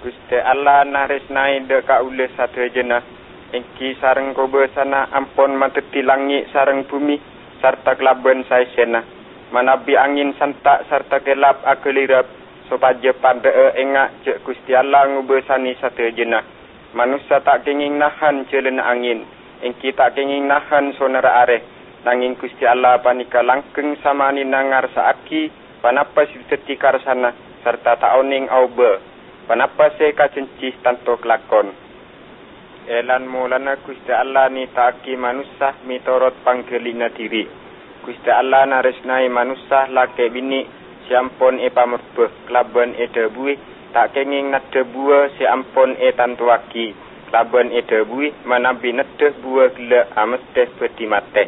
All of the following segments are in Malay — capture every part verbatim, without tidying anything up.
Gusti Allah naresnai de kaule sadayana engki sareng kobe sana ampon mateti langit sareng bumi sarta kelaben saesena manabi angin santak sarta gelap akelirap sopaja pandee engak cek Gusti Allah ngubesani sadayana manusia tak kenging nahan celena angin engki tak kenging nahan sonara areh nanging Gusti Allah panika langkeng samani nangar saaki panapa siteti karsana sarta taoning aube panapa se kacencih tanto kelakon. Elan mulana Gusti Allah ni taaki manusia mitorot panggelina diri. Gusti Allah naresnai manusia lake bini siampon e pamurbeh kelaban e debui tak kenging nade bua siampon e tantuaki kelaban e debui manabi nade bua gila amesteh bedi mate.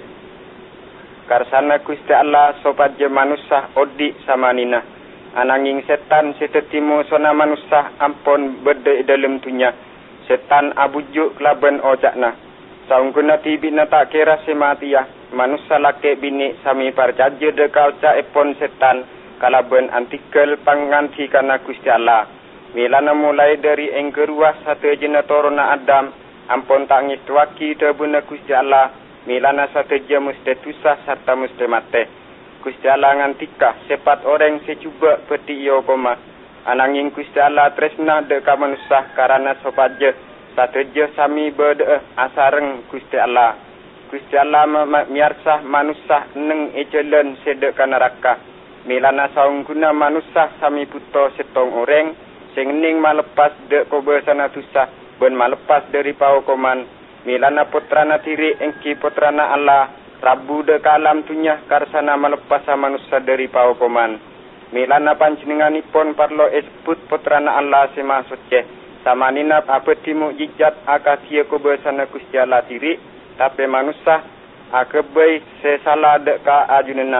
Karsana Gusti Allah sopaja manusia odik samanina. Ananging setan setetimu sona manusia ampon berde dalam dunia. Setan abujuk kelaban ojakna. Saungguna tibina tak kira sematiya. Manusia lake bini sami parjaja deka ojak epon setan. Kalaban antikel panganti kana Gusti Allah. Milana mulai dari enggeruah satu jena torona Adam. Ampon tak ngituaki debuna Gusti Allah. Milana satu jena musti tusah serta musti mate. Gusti Allah ngantika sepat orang secuba peti iyo koma. Ananging Gusti Allah tresna deka manusia karana sopaja sateja sami berde asareng Gusti Allah. Gusti Allah miarsah manusia neng ejelen sedeka neraka. Milana saungguna manusia sami puto setong orang sengning malepas de kobesana tusah ben malepas dari paukoman. Milana putrana tiri engki putrana Allah. Rabu de kalam tunya karsana melepasa manusia dari paukoman. Milana panjenenganipun parlo esbut putrana Allah sema suci. Samanina apeti mukjizat akasia kubesana Gusti Allah diri. Tapi manusia akebei sesala deka ajunena.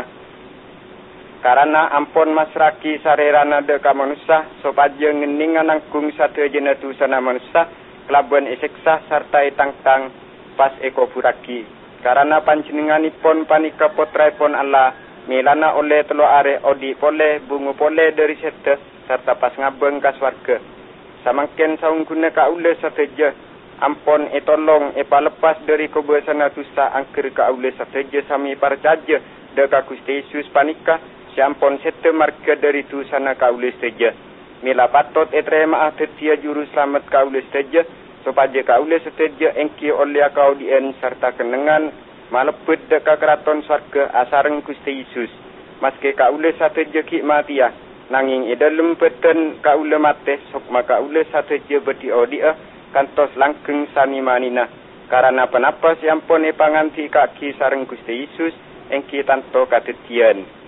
Karena ampon masraki sarerana deka manusia. Sopaja ngeningan nangkung satu jenatu sana manusia. Kelabuan eseksa sarta etang-tang pas eko buraki. Karena panjenenganipun panika putraipun Allah milana oleh telo are odi pole bungu pole dari sete serta pas ngabeng ka swarga. Samangken saungguna kaule sateja ampon etolong epa lepas dari kebesana tusa angker kaule sateja sami parjaja deka Gusti Yesus panika siampon sete marga dari tu sana kaule sateja. Mila patot etrema atetia juru selamat kaule sateja. Sopaja kaule seteja engki oleh kau dien serta kenengan malebet deka keraton sarga asareng Gusti Yesus. Maske kaule sateja hikmatia nanging idalem beten kaule mate sok maka kaule sateja bedi odia kantos langkeng sani manina. Karena penapa siampun e panganti kaki sareng Gusti Yesus engki tanto katetian.